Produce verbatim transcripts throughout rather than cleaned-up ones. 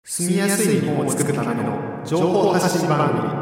住みやすい日本を作るための情報発信番組。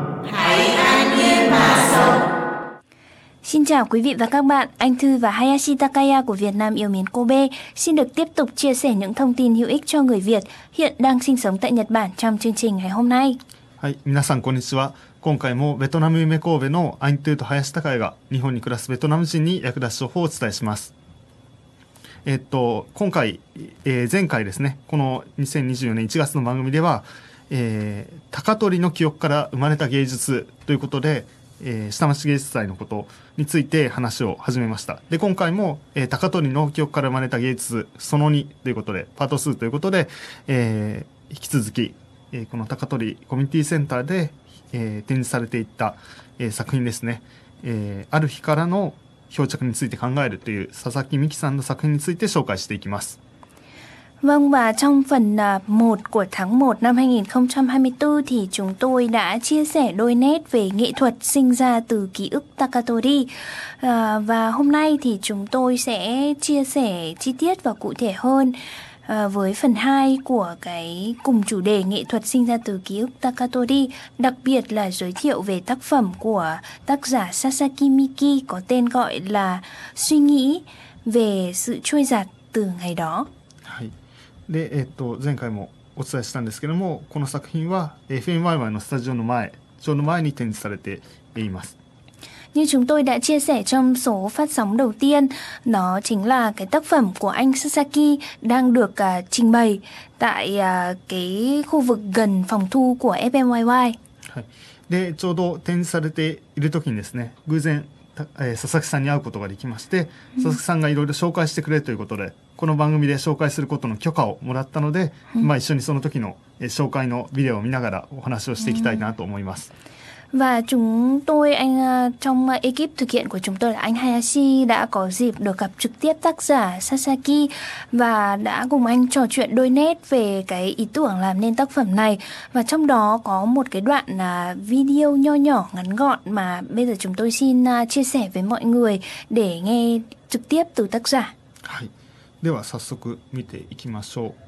Xin chào quý vị và các bạn, anh Thư và Hayashi Takaya của Việt Nam yêu mến Kobe xin được tiếp tục chia sẻ những thông tin hữu ích cho người Việt hiện đang sinh sống tại Nhật Bản trong chương trình ngày hôm nay. はい、皆さんこんにちは。今回もベトナム夢神戸のアイントゥーと林孝也が日本に暮らすベトナム人に役立つ情報をお伝えします。えっと今回、えー、前回ですね、このにせんにじゅうよねんいちがつの番組では、えー、高取の記憶から生まれた芸術ということで、えー、下町芸術祭のことについて話を始めました。で今回も、えー、高取の記憶から生まれた芸術そのにということでパートにということで、えー、引き続き、えー、この高取コミュニティセンターで、えー、展示されていった、えー、作品ですね、えー、ある日からの漂着について考えるという佐々木美希さんの作品について紹介していきます。 Vâng, và trong phần một của tháng một năm hai không hai tư thì chúng tôi đã chia sẻ đôi nét về nghệ thuật sinh ra từ ký ức Takatori. À, và hôm nay thì chúng tôi sẽ chia sẻ chi tiết và cụ thể hơn à, với phần hai của cái cùng chủ đề nghệ thuật sinh ra từ ký ức Takatori, đặc biệt là giới thiệu về tác phẩm của tác giả Sasaki Miki có tên gọi là Suy nghĩ về sự trôi giạt từ ngày đó. で、えっと、前回もお伝えしたんですけども、この作品は エフエムワイワイ のスタジオの前、ちょうど前に展示されています。 Như chúng tôi đã chia sẻ trong số phát sóng đầu tiên, nó chính là cái tác phẩm của anh Sasaki đang được uh, trình bày tại uh, cái khu vực gần phòng thu của ép emワイワイ。 はい、で、ちょうど展示されている時にですね、偶然、えー、佐々木さんに会うことができまして、佐々木さんがいろいろ紹介してくれるということで、この番組で紹介することの許可をもらったので、まあ、一緒にその時の紹介のビデオを見ながらお話をしていきたいなと思います。 Và chúng tôi, anh trong ekip thực hiện của chúng tôi là anh Hayashi đã có dịp được gặp trực tiếp tác giả Sasaki và đã cùng anh trò chuyện đôi nét về cái ý tưởng làm nên tác phẩm này. Và trong đó có một cái đoạn video nho nhỏ ngắn gọn mà bây giờ chúng tôi xin chia sẻ với mọi người để nghe trực tiếp từ tác giả. はい、では早速見ていきましょう。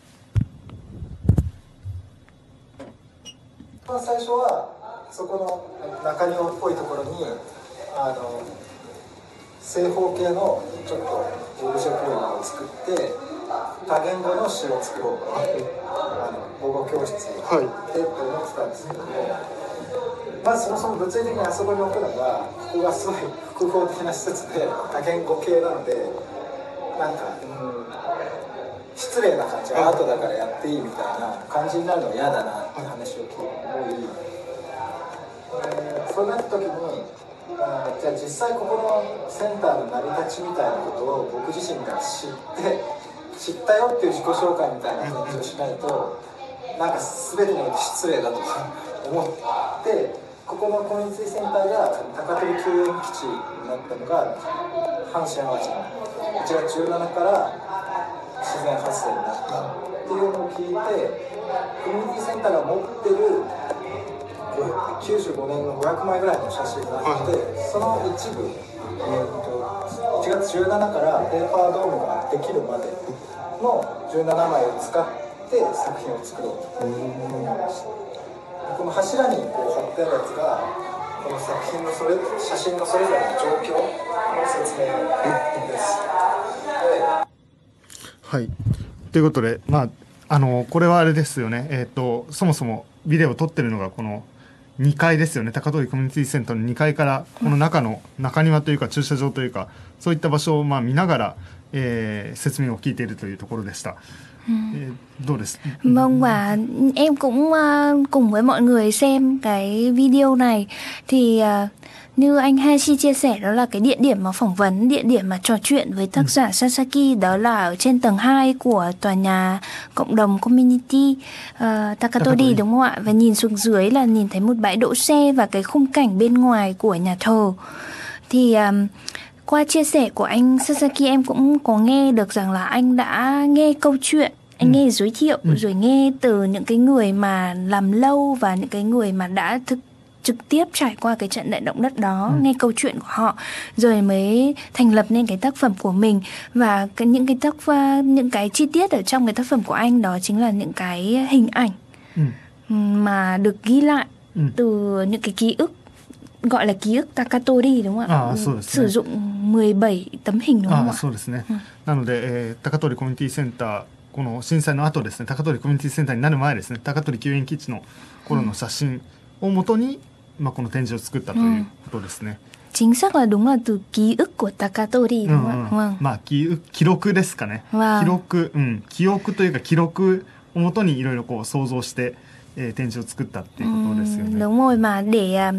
最初はそこの中庭っぽいところにあの正方形のちょっとオブジェっぽいのを作って多言語の詩を作ろうと、あの母語教室でって思ってたんですけども、まずそもそも物理的にあそこに置くのがここがすごい複合的な施設で多言語系なのでなんか、うん、失礼な感じ、アートだからやっていいみたいな感じになるのは嫌だなって話を聞いて。そうなった時にあじゃあ実際ここのセンターの成り立ちみたいなことを僕自身が知って知ったよっていう自己紹介みたいな感じをしないとなんか全てにおいて失礼だとか思ってここのコミュニティセンターが高取救援基地になったのが阪神・淡路のいちがつじゅうしちにちから自然発生になったっていうのを聞いてコミュニティセンターが持ってるきゅうじゅうごねんのごひゃくまいぐらいの写真があって、その一部、えー、といちがつじゅうしちからペーパードームができるまでのじゅうななまいを使って作品を作ろうと思いました。この柱にこう貼ってあるやつがこの作品のそれ写真のそれぞれの状況の説明です。 はい、ということで、まあ、あのこれはあれですよね、えー、とそもそもビデオを撮ってるのがこのにかいですよね。高取コミュニティセンターのにかいからこの中の中庭というか駐車場というかそういった場所をまあ見ながら、えー、説明を聞いているというところでした。どうです? Vâng, và em cũng uh, cùng với mọi người xem cái video này thì uh, như anh Hayashi chia sẻ đó là cái địa điểm mà phỏng vấn, địa điểm mà trò chuyện với tác giả Sasaki đó là ở trên tầng hai của tòa nhà cộng đồng community uh, Takatori đúng không ạ? Và nhìn xuống dưới là nhìn thấy một bãi đỗ xe và cái khung cảnh bên ngoài của nhà thờ. Thì um, qua chia sẻ của anh Sasaki em cũng có nghe được rằng là anh đã nghe câu chuyện, anh ừ. nghe giới thiệu ừ. rồi nghe từ những cái người mà làm lâu và những cái người mà đã thực trực tiếp trải qua cái trận đại động đất đó, ừ. nghe câu chuyện của họ rồi mới thành lập nên cái tác phẩm của mình. Và cái, những cái tác những cái chi tiết ở trong cái tác phẩm của anh đó chính là những cái hình ảnh ừ. mà được ghi lại ừ. từ những cái ký ức, gọi là ký ức Takatori đúng không ạ? À,そうですね。 sử dụng mười bảy tấm hình đúng không ạ? そうですね。なので、えー、高取コミュニティセンター、この震災の後ですね、高取コミュニティセンターになる前ですね、高取救援基地の頃の写真をもとに、まあ、この展示を作ったということですね。 Chính xác là đúng là từ ký ức của Takatori đúng không ạ? Vâng. まあ記録ですかね。記録、うん、記憶というか記録をもとにいろいろこう想像して、えー、展示を作ったっていうことですよね。 Đúng rồi, mà để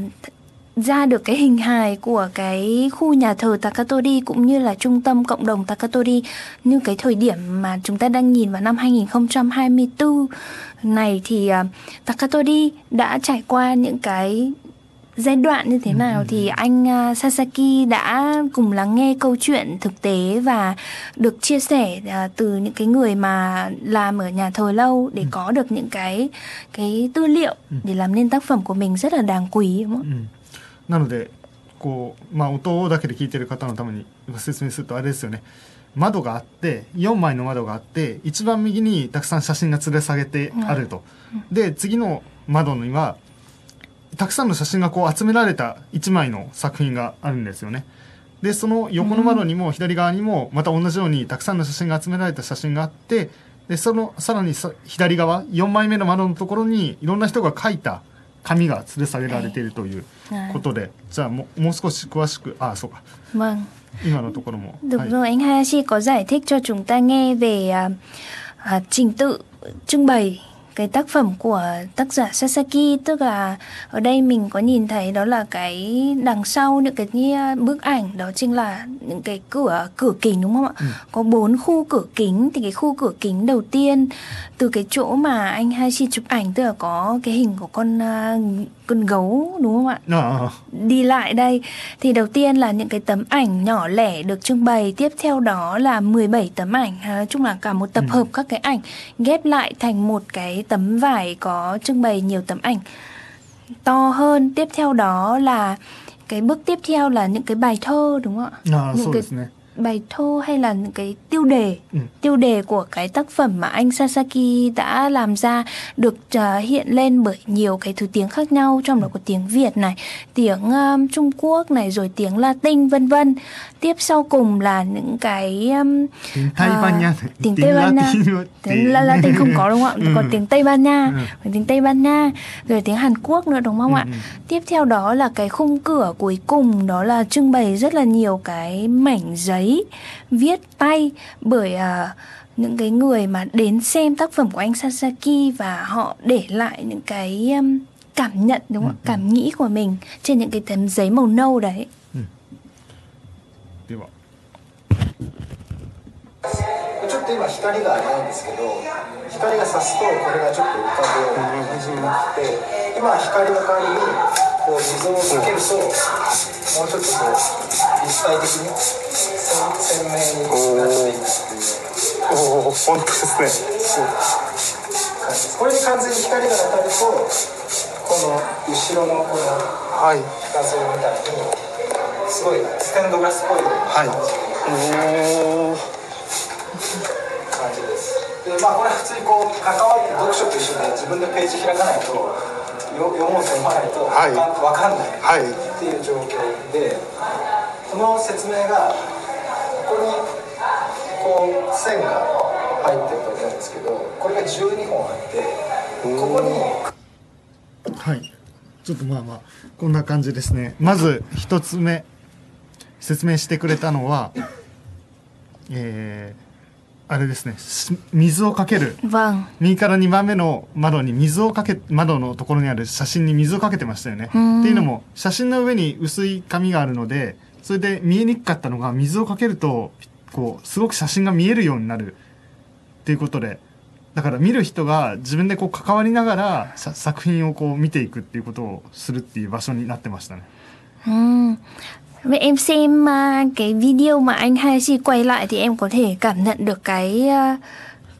ra được cái hình hài của cái khu nhà thờ Takatori cũng như là trung tâm cộng đồng Takatori như cái thời điểm mà chúng ta đang nhìn vào năm hai không hai tư này thì uh, Takatori đã trải qua những cái giai đoạn như thế nào, ừ. thì anh uh, Sasaki đã cùng lắng nghe câu chuyện thực tế và được chia sẻ uh, từ những cái người mà làm ở nhà thờ lâu để ừ. có được những cái cái tư liệu ừ. để làm nên tác phẩm của mình rất là đáng quý đúng không? Ừ. なのでこう、まあ、音だけで聞いてる方のために説明するとあれですよね。窓があってよんまいの窓があって一番右にたくさん写真が吊る下げてあると、うん、で次の窓にはたくさんの写真がこう集められたいちまいの作品があるんですよね。でその横の窓にも左側にもまた同じようにたくさんの写真が集められた写真があって、でそのさらに左側よんまいめの窓のところにいろんな人が描いた紙が吊る下げられているということで、じゃあもう、もう少し詳しく、あ、そうか。 Vâng. 今のところも。 Được rồi, anh Hayashi có giải thích cho chúng ta nghe về uh, uh, trình tự trưng bày cái tác phẩm của tác giả Sasaki, tức là ở đây mình có nhìn thấy đó là cái đằng sau những cái bức ảnh đó chính là những cái cửa cửa kính đúng không ạ? Ừ. Có bốn khu cửa kính, thì cái khu cửa kính đầu tiên từ cái chỗ mà anh Hayashi chụp ảnh, tức là có cái hình của con uh, con gấu đúng không ạ? À. Đi lại đây thì đầu tiên là những cái tấm ảnh nhỏ lẻ được trưng bày, tiếp theo đó là mười bảy tấm ảnh, nói chung là cả một tập ừ. hợp các cái ảnh ghép lại thành một cái tấm vải có trưng bày nhiều tấm ảnh to hơn. Tiếp theo đó là cái bước tiếp theo là những cái bài thơ đúng không ạ? À, những cái bài thơ hay là những cái tiêu đề ừ. tiêu đề của cái tác phẩm mà anh Sasaki đã làm ra được uh, hiện lên bởi nhiều cái thứ tiếng khác nhau, trong đó có tiếng Việt này, tiếng um, Trung Quốc này, rồi tiếng Latin vân vân. Tiếp sau cùng là những cái um, tiếng Tây Ban Nha, uh, tiếng Tây Ban Nha, tiếng Latin không có đúng không ạ? Còn tiếng Tây Ban Nha, ừ. tiếng Tây Ban Nha, rồi tiếng Hàn Quốc nữa đúng không ừ. ạ? Tiếp theo đó là cái khung cửa cuối cùng, đó là trưng bày rất là nhiều cái mảnh giấy viết tay bởi uh, những cái người mà đến xem tác phẩm của anh Sasaki, và họ để lại những cái um, cảm nhận đúng không? Ừ, cảm ừ. nghĩ của mình trên những cái tấm giấy màu nâu đấy. Ừ. ちょっと今光がないんですけど、光が差すとこれがちょっと浮かぶ感じになって、今光の代わりにこう水をかけるともうちょっとこう立体的に鮮明になっていくっていう。 おお、本当ですね。 これに完全に光が当たるとこの後ろのこの画像みたいにすごいステンドグラスっぽい感じ。はい。感じです。で、まあこれは普通にこう関わって読書と一緒で自分でページ開かないとよ読もうと読まないとわかんないっていう状況で、この説明がここにこう線が入ってると思うんですけど、これがじゅうにほんあって、ここにはい、ちょっとまあまあこんな感じですね。まず一つ目説明してくれたのは、えーあれですね、水をかける、右からにばんめの窓に水をかけ、窓のところにある写真に水をかけてましたよね。っていうのも写真の上に薄い紙があるので、それで見えにくかったのが水をかけるとこうすごく写真が見えるようになるっていうことで、だから見る人が自分でこう関わりながら作品をこう見ていくっていうことをするっていう場所になってましたね。 うん。Vậy em xem uh, cái video mà anh Hayashi quay lại thì em có thể cảm nhận được cái uh,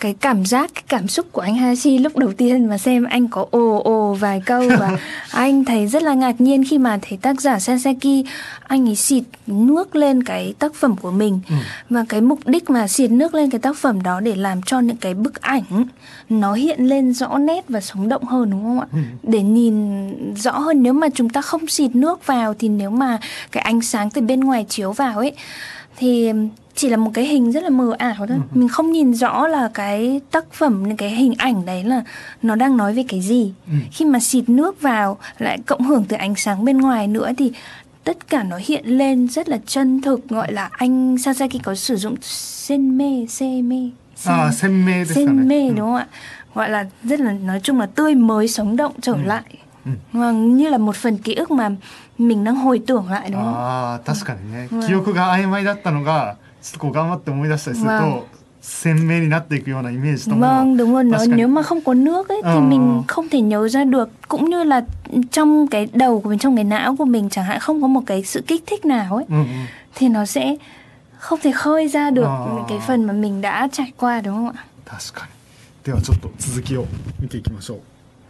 cái cảm giác, cái cảm xúc của anh Hayashi lúc đầu tiên mà xem anh có ồ ồ vài câu và anh thấy rất là ngạc nhiên khi mà thấy tác giả Sasaki anh ấy xịt nước lên cái tác phẩm của mình. Ừ. Và cái mục đích mà xịt nước lên cái tác phẩm đó để làm cho những cái bức ảnh nó hiện lên rõ nét và sống động hơn, đúng không ạ? Ừ. Để nhìn rõ hơn. Nếu mà chúng ta không xịt nước vào thì nếu mà cái ánh sáng từ bên ngoài chiếu vào ấy thì chỉ là một cái hình rất là mờ ảo thôi. Ừ. Mình không nhìn rõ là cái tác phẩm, cái hình ảnh đấy là nó đang nói về cái gì. Ừ. Khi mà xịt nước vào lại cộng hưởng từ ánh sáng bên ngoài nữa thì tất cả nó hiện lên rất là chân thực. Gọi là anh Sasaki có sử dụng senme, seme, à, senme, senme đúng không ạ? Gọi là rất là, nói chung là tươi mới, sống động trở ừ. lại. Ừ. Và như là một phần ký ức mà mình đang hồi tưởng lại, đúng không? À, 確かにね。記憶が曖昧だったのがちょっとこう頑張って思い出したりすると鮮明になっていくようなイメージとも。 Vâng, đúng rồi. Nó, nếu mà không có nước ấy thì mình không thể nhớ ra được. Cũng như là trong cái đầu của mình, trong cái não của mình chẳng hạn không có một cái sự kích thích nào ấy, thì nó sẽ không thể khơi ra được cái phần mà mình đã trải qua, đúng không ạ? 確かに。ではちょっと続きを見ていきましょう。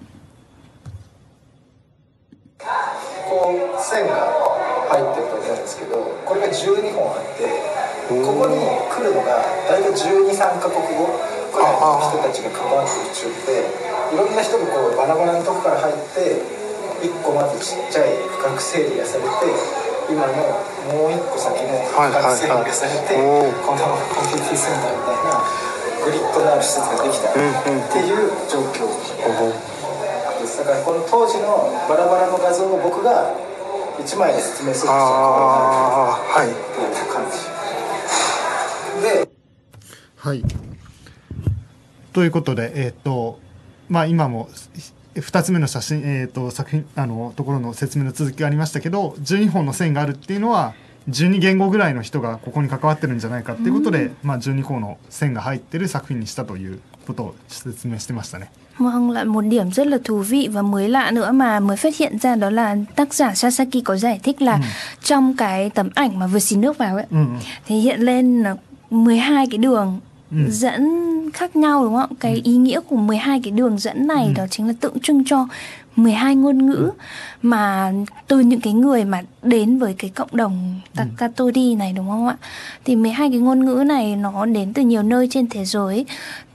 こう線が入ってると思うんですけど、これがじゅうにほんあって、ここに来るのが大体じゅうに、さんカ国語くらいの人たちが関わってる中で、いろんな人がこうバラバラのとこから入っていっこまずちっちゃい区画整理がされて、今のもういっこ先の区画整理がされて、このコミュニティセンターみたいなグリッドのある施設ができたっていう状況です。だからこの当時のバラバラの画像を僕がいちまいで説明するとこうなるっていう感じで、 はい。ということで、えっとまあ今もふたつめの写真、えっと作品あのところの説明の続きがありましたけど、じゅうにほんの線があるっていうのはじゅうに言語ぐらいの人がここに関わってるんじゃないかっていうことで、うん、まあじゅうに個の線が入ってる作品にしたということを説明してましたね。 Vâng, là một điểm rất là thú vị và mới lạ nữa mà mới phát hiện ra, đó là tác giả Sasaki có giải thích là ừ. trong cái tấm ảnh mà vừa xịt nước vào ấy, ừ. thì hiện lên là mười hai cái đường ừ. dẫn khác nhau, đúng không? Cái ừ. ý nghĩa của mười hai cái đường dẫn này ừ. đó chính là tượng trưng cho mười hai ngôn ngữ ừ. mà từ những cái người mà đến với cái cộng đồng Takatori này, đúng không ạ? Thì mười hai cái ngôn ngữ này nó đến từ nhiều nơi trên thế giới.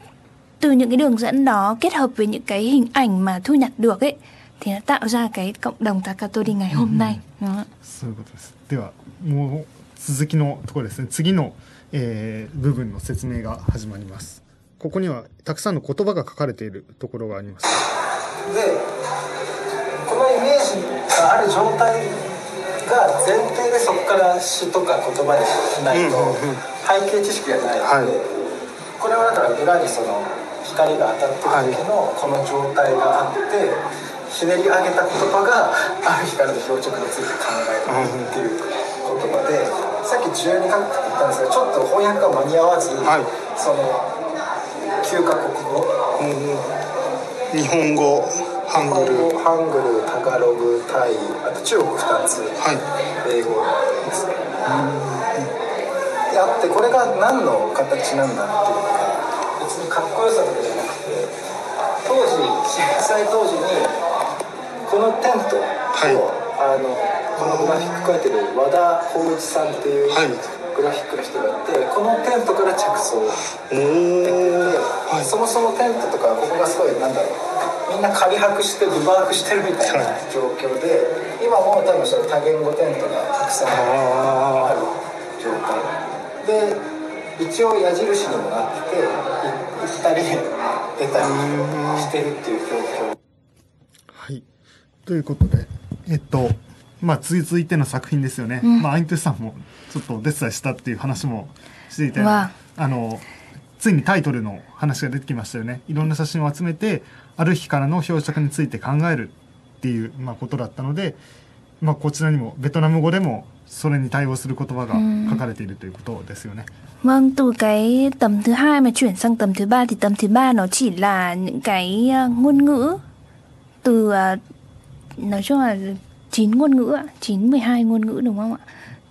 Từ những cái đường dẫn đó kết hợp với những cái hình ảnh mà thu nhặt được ấy thì nó tạo ra cái cộng đồng Takatori ngày hôm nay. Đúng không ạ? そういうことです。ではもう続きのところですね。次の、えー、部分の説明が始まります。ここにはたくさんの言葉が書かれているところがあります。 で、このイメージがある状態が前提でそこから詩とか言葉にしないと背景知識がないので、はい、これはだから裏にその光が当たってる時のこの状態があって、ひねり上げた言葉がある光の標着について考えるっていう言葉で、さっきじゅうにカ国って言ったんですが、ちょっと翻訳が間に合わず、はい、そのきゅうカ国語、うん、日本語、ハングル、ハングル、タガログ、タイ、あと中国ふたつ、はい、英語ですね。であって、これが何の形なんだっていうのが別にかっこよさとかじゃなくて、当時震災当時にこのテントを、はい、あのこのグラフィック描いてる和田浩一さんっていうグラフィックの人がいて、このテントから着想できてて、はい、そもそもテントとかここがすごいなんだろう、みんな仮泊してビバークしてるみたいな状況で、今も多分その多言語テントがたくさんある状態で、一応矢印にもなってて、行ったり出たりしてるっていう状況。 はい、ということで、えっとまあ続いての作品ですよね。うん、まあアイントゥさんもちょっとお手伝いしたっていう話もしていて、あのついにタイトルの話が出てきましたよね。いろんな写真を集めてある日からの標着について考えるっていう、まあ、ことだったので、まあ、こちらにもベトナム語でもそれに対応する言葉が書かれているということですよね. Vâng, từ cái tấm thứ hai mà chuyển sang tấm thứ ba thì tấm thứ ba nó chỉ là những cái ngôn ngữ từ nói chung là chín ngôn ngữ ạ, chín mười hai ngôn ngữ đúng không ạ?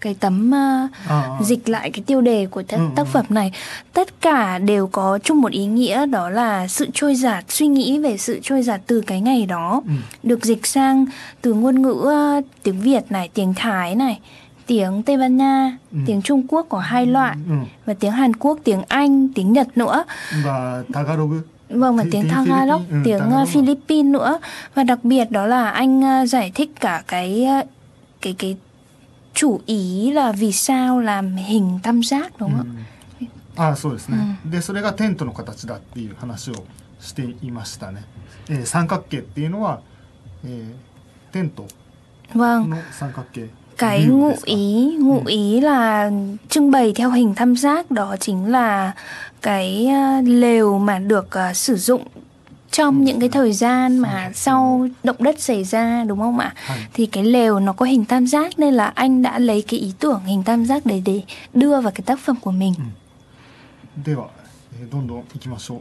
cái tấm uh, à, à. dịch lại cái tiêu đề của tác, ừ, tác phẩm này. Tất cả đều có chung một ý nghĩa, đó là sự trôi dạt, suy nghĩ về sự trôi dạt từ cái ngày đó, ừ. được dịch sang từ ngôn ngữ uh, tiếng Việt này, tiếng Thái này, tiếng Tây Ban Nha, ừ. tiếng Trung Quốc có hai loại, ừ. và tiếng Hàn Quốc, tiếng Anh, tiếng Nhật nữa. Và Tagalog. Vâng, và tiếng, tiếng Tagalog, ừ, tiếng Tagalog. Philippines nữa. Và đặc biệt đó là anh uh, giải thích cả cái cái cái chủ ý là vì sao làm hình tam giác, đúng không ạ? ああ、そうですね。で、それがテントの形だっていう話をしていましたね。えー、三角形っていうのは、えー、テントの三角形。 Cái ngụ ý, ngụ ý là trưng bày theo hình tam giác, đó chính là cái lều mà được uh, sử dụng trong những cái thời gian mà sau động đất xảy ra, đúng không ạ? Thì cái lều nó có hình tam giác, nên là anh đã lấy cái ý tưởng hình tam giác đấy để đưa vào cái tác phẩm của mình. では、どんどん行きましょう。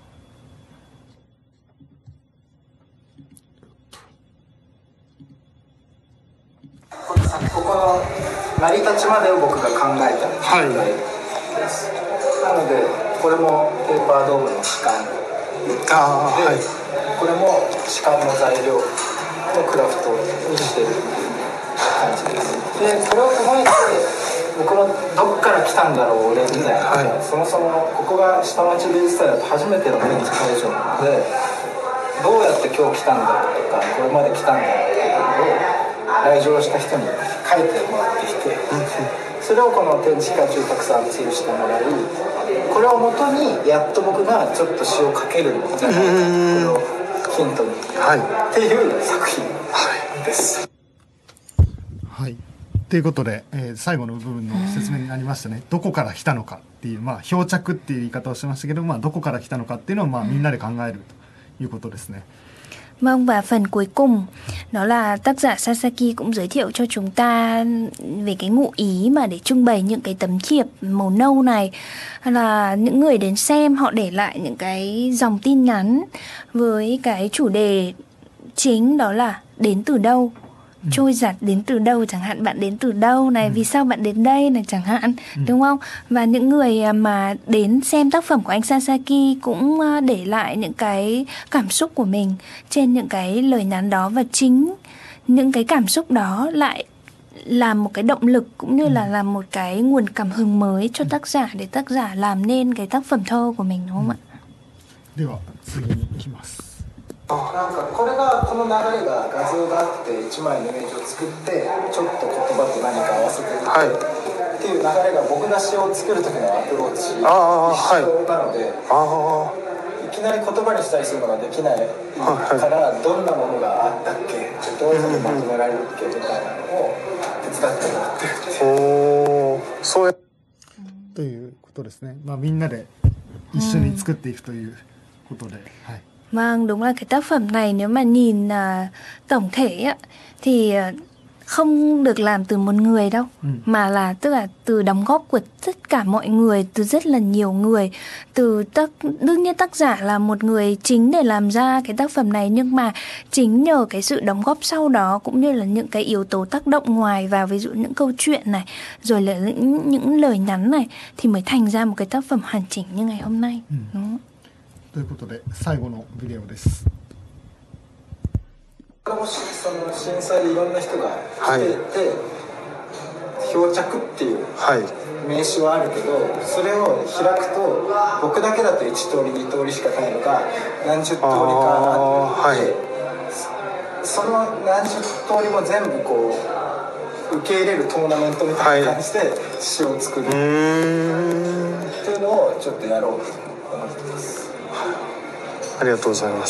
ここの成り立ちまでを僕が考えた題です。なのでこれもペーパードームの主観で、あ、はい、これも主観の材料のクラフトにしてる感じです。でこれを踏まえて僕のどっから来たんだろう俺みたいな、はい、そもそもここが下町美術祭だと初めての展示会場なので、どうやって今日来たんだろうとかこれまで来たんだろうっていうのを来場した人に書いてもらってきて、それをこの展示会中たくさん吊るしてもらい、これをもとにやっと僕がちょっと詩を書けるんじゃないか、これをヒントに、はい、っていう作品です。 はい、ということで、えー、最後の部分の説明になりましたね。どこから来たのかっていう、まあ、漂着っていう言い方をしましたけど、まあ、どこから来たのかっていうのを、まあ、みんなで考えるということですね。 Vâng, và phần cuối cùng đó là tác giả Sasaki cũng giới thiệu cho chúng ta về cái ngụ ý mà để trưng bày những cái tấm thiệp màu nâu này, là những người đến xem họ để lại những cái dòng tin nhắn với cái chủ đề chính, đó là đến từ đâu, ừ. trôi giạt đến từ đâu, chẳng hạn bạn đến từ đâu này, ừ. vì sao bạn đến đây này chẳng hạn, ừ. đúng không? Và những người mà đến xem tác phẩm của anh Sasaki cũng để lại những cái cảm xúc của mình trên những cái lời nhắn đó, và chính những cái cảm xúc đó lại là một cái động lực cũng như là làm một cái nguồn cảm hứng mới cho tác giả để tác giả làm nên cái tác phẩm thơ của mình, đúng không ạ? では次に行きます。 なんかこれがこの流れが画像があっていちまいのイメージを作ってちょっと言葉と何か合わせていって、はい、っていう流れが僕が詩を作る時のアプローチ一緒なので、あいきなり言葉にしたりするのができないから、どんなものがあったっけ、どういうふうにまとめられるっけみたいなのを手伝ってもらってるっていう。おそうやということですね。まあみんなで一緒に作っていくということで、はい。 Vâng, đúng là cái tác phẩm này nếu mà nhìn uh, tổng thể á, thì uh, không được làm từ một người đâu, ừ. mà là tức là từ đóng góp của tất cả mọi người, từ rất là nhiều người, từ tác đương nhiên tác giả là một người chính để làm ra cái tác phẩm này, nhưng mà chính nhờ cái sự đóng góp sau đó cũng như là những cái yếu tố tác động ngoài vào, ví dụ những câu chuyện này, rồi là những, những lời nhắn này, thì mới thành ra một cái tác phẩm hoàn chỉnh như ngày hôm nay, ừ. đúng không? ということで最後のビデオです。 もしその震災でいろんな人が来ていて、はい、漂着っていう名詞はあるけど、それを開くと僕だけだといち通りに通りしかないのが何十通りかあって、はい、その何十通りも全部こう受け入れるトーナメントみたいな感じで詩を作るっていうのをちょっとやろうと思ってます。 ありがとうございます。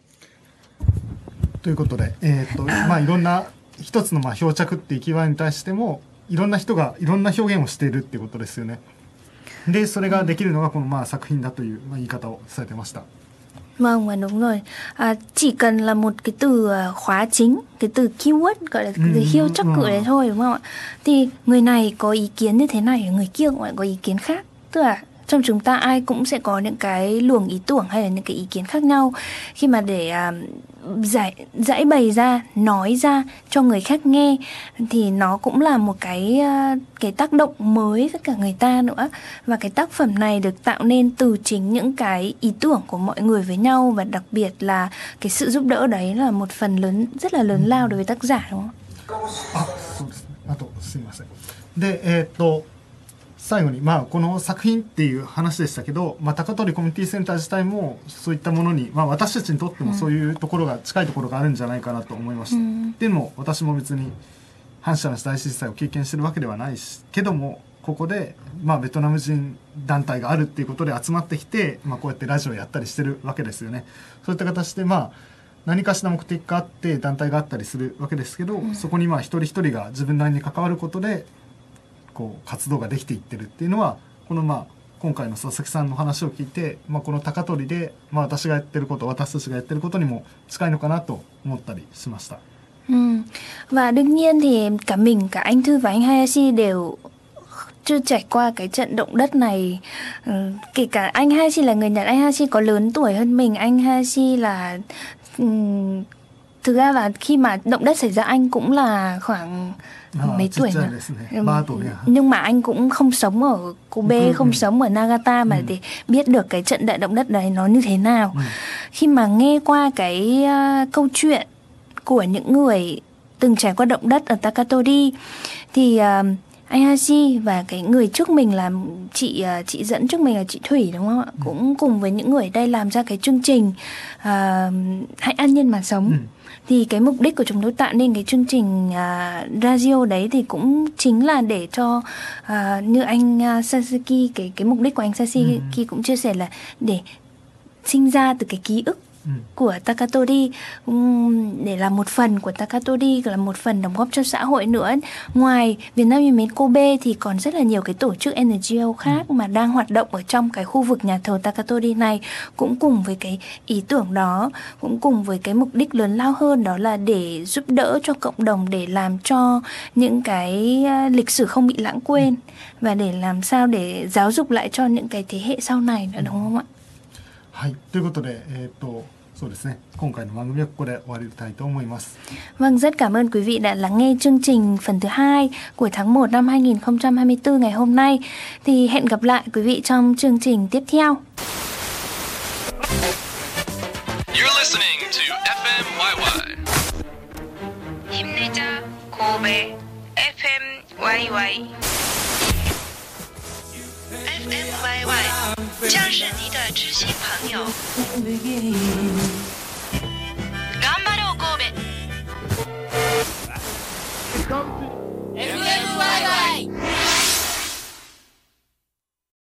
ということで、えーとまあ、いろんな一つのまあ漂着っていうキーワードに対してもいろんな人がいろんな表現をしているっていうことですよね。でそれができるのがこのまあ作品だというまあ言い方をされてました。 Vâng, và đúng rồi. À, chỉ cần là một cái từ khóa chính, cái từ keyword gọi là từ hiêu chắc cự đấy thôi, đúng không ạ? Thì người này có ý kiến như thế này, người kia cũng lại có ý kiến khác. Tức là trong chúng ta ai cũng sẽ có những cái luồng ý tưởng hay là những cái ý kiến khác nhau. Khi mà để à, giải giải bày ra, nói ra cho người khác nghe, thì nó cũng là một cái cái tác động mới với cả người ta nữa. Và cái tác phẩm này được tạo nên từ chính những cái ý tưởng của mọi người với nhau, và đặc biệt là cái sự giúp đỡ đấy là một phần lớn rất là lớn lao đối với tác giả, đúng không? あ、そうですね。あとすみません。で、えーっと最後に、まあ、この作品っていう話でしたけど、まあ、高取コミュニティセンター自体もそういったものに、まあ、私たちにとってもそういうところが、近いところがあるんじゃないかなと思いました。うん、でも私も別に阪神・淡路大震災を経験してるわけではないしけども、ここで、まあ、ベトナム人団体があるっていうことで集まってきて、まあ、こうやってラジオやったりしてるわけですよね。そういった形で、まあ、何かしら目的があって団体があったりするわけですけど、うん、そこにまあ一人一人が自分なりに関わることでこう活動ができていってるっていうのは、このまあ今回の佐々木さんの話を聞いて、まあ、この高取で、まあ、私がやってること、私たちがやってることにも近いのかなと思ったりしました。 Ừ. Và đương nhiên thì cả mình, cả anh Thư và anh Hayashi đều chưa trải qua cái trận động đất này. Ừ, kể cả anh Hayashi là người Nhật, anh Hayashi có lớn tuổi hơn mình. Anh Hayashi là um, thực ra là khi mà động đất xảy ra anh cũng là khoảng à, mấy tuổi nhỉ? ba tuổi à? Nhưng mà anh cũng không sống ở Kobe, ừ, không ừ. sống ở Nagata mà ừ. để biết được cái trận đại động đất đấy nó như thế nào. Ừ. Khi mà nghe qua cái uh, câu chuyện của những người từng trải qua động đất ở Takatori thì uh, anh Hayashi và cái người trước mình là chị uh, chị dẫn trước mình là chị Thủy, đúng không ạ? Ừ. Cũng cùng với những người ở đây làm ra cái chương trình uh, Hãy an nhiên mà sống. Ừ. Thì cái mục đích của chúng tôi tạo nên cái chương trình uh, radio đấy thì cũng chính là để cho uh, như anh uh, Sasaki, cái cái mục đích của anh Sasaki ừ. cũng chia sẻ là để sinh ra từ cái ký ức Ừ. của Takatori, để làm một phần của Takatori, là một phần đóng góp cho xã hội nữa. Ngoài Việt Nam Yêu Mến Kobe thì còn rất là nhiều cái tổ chức en giê ô khác ừ. mà đang hoạt động ở trong cái khu vực nhà thờ Takatori này, cũng cùng với cái ý tưởng đó, cũng cùng với cái mục đích lớn lao hơn, đó là để giúp đỡ cho cộng đồng, để làm cho những cái lịch sử không bị lãng quên ừ. và để làm sao để giáo dục lại cho những cái thế hệ sau này nữa, đúng không ạ? はい、ということで、えーと、そうですね、今回の番組はここで終わりたいと思います。 Vâng, rất cảm ơn quý vị đã lắng nghe chương trình phần thứ hai của tháng một năm hai nghìn không trăm hai mươi tư ngày hôm nay. Thì hẹn gặp lại quý vị trong chương trình tiếp theo. You're listening to ép em vê vê. 힘내자 Kobe ép em vê vê. ép em vê vê 将是你的知心朋友。